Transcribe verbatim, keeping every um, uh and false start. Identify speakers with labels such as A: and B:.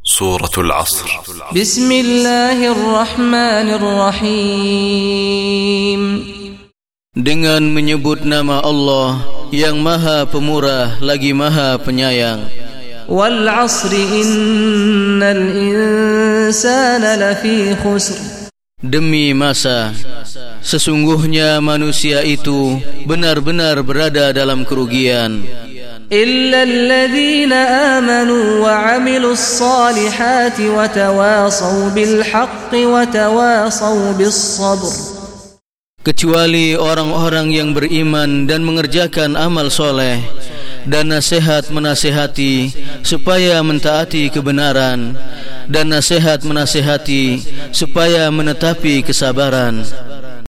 A: Suratul Asr.
B: Bismillahirrahmanirrahim.
C: Dengan menyebut nama Allah yang Maha Pemurah lagi Maha Penyayang.
B: Wal 'asri innal insana lafi khusr.
C: Demi masa, sesungguhnya manusia itu benar-benar berada dalam kerugian.
B: إلا الذين آمنوا وعملوا الصالحات وتواصوا بالحق وتواصوا بالصبر.
C: Kecuali orang-orang yang beriman dan mengerjakan amal soleh dan nasihat menasihati supaya mentaati kebenaran dan nasihat menasihati supaya menetapi kesabaran.